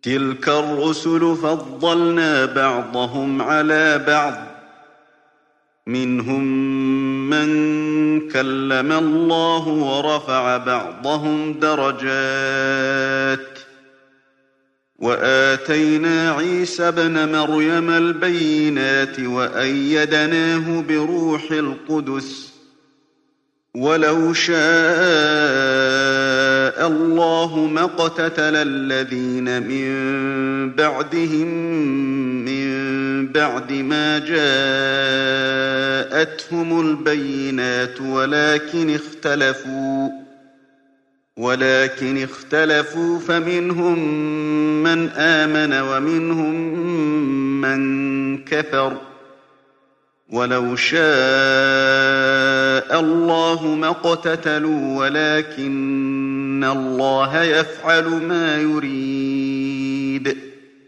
تِلْكَ الرُّسُلُ فَضَّلْنَا بَعْضَهُمْ عَلَىٰ بَعْضٍ ۖ مِّنْهُم مَّن كَلَّمَ اللَّهُ وَرَفَعَ بَعْضَهُمْ دَرَجَاتٍ ۚ وَآتَيْنَا عِيسَى ابْنَ مَرْيَمَ الْبَيِّنَاتِ وَأَيَّدْنَاهُ بِرُوحِ الْقُدُسِ ۗ وَلَوْ شَاءَ اللَّهُ مَا اقْتَتَلَ الَّذِينَ مِن بَعْدِهِم مِّن بَعْدِ مَا جَاءَتْهُمُ الْبَيِّنَاتُ وَلَٰكِنِ اخْتَلَفُوا فَمِنْهُم مَّنْ آمَنَ وَمِنْهُم مَّن كَفَرَ ۚ وَلَوْ شَاءَ اللَّهُ مَا اقْتَتَلُوا وَلَٰكِنَّ اللَّهَ يَفْعَلُ مَا يُرِيدُ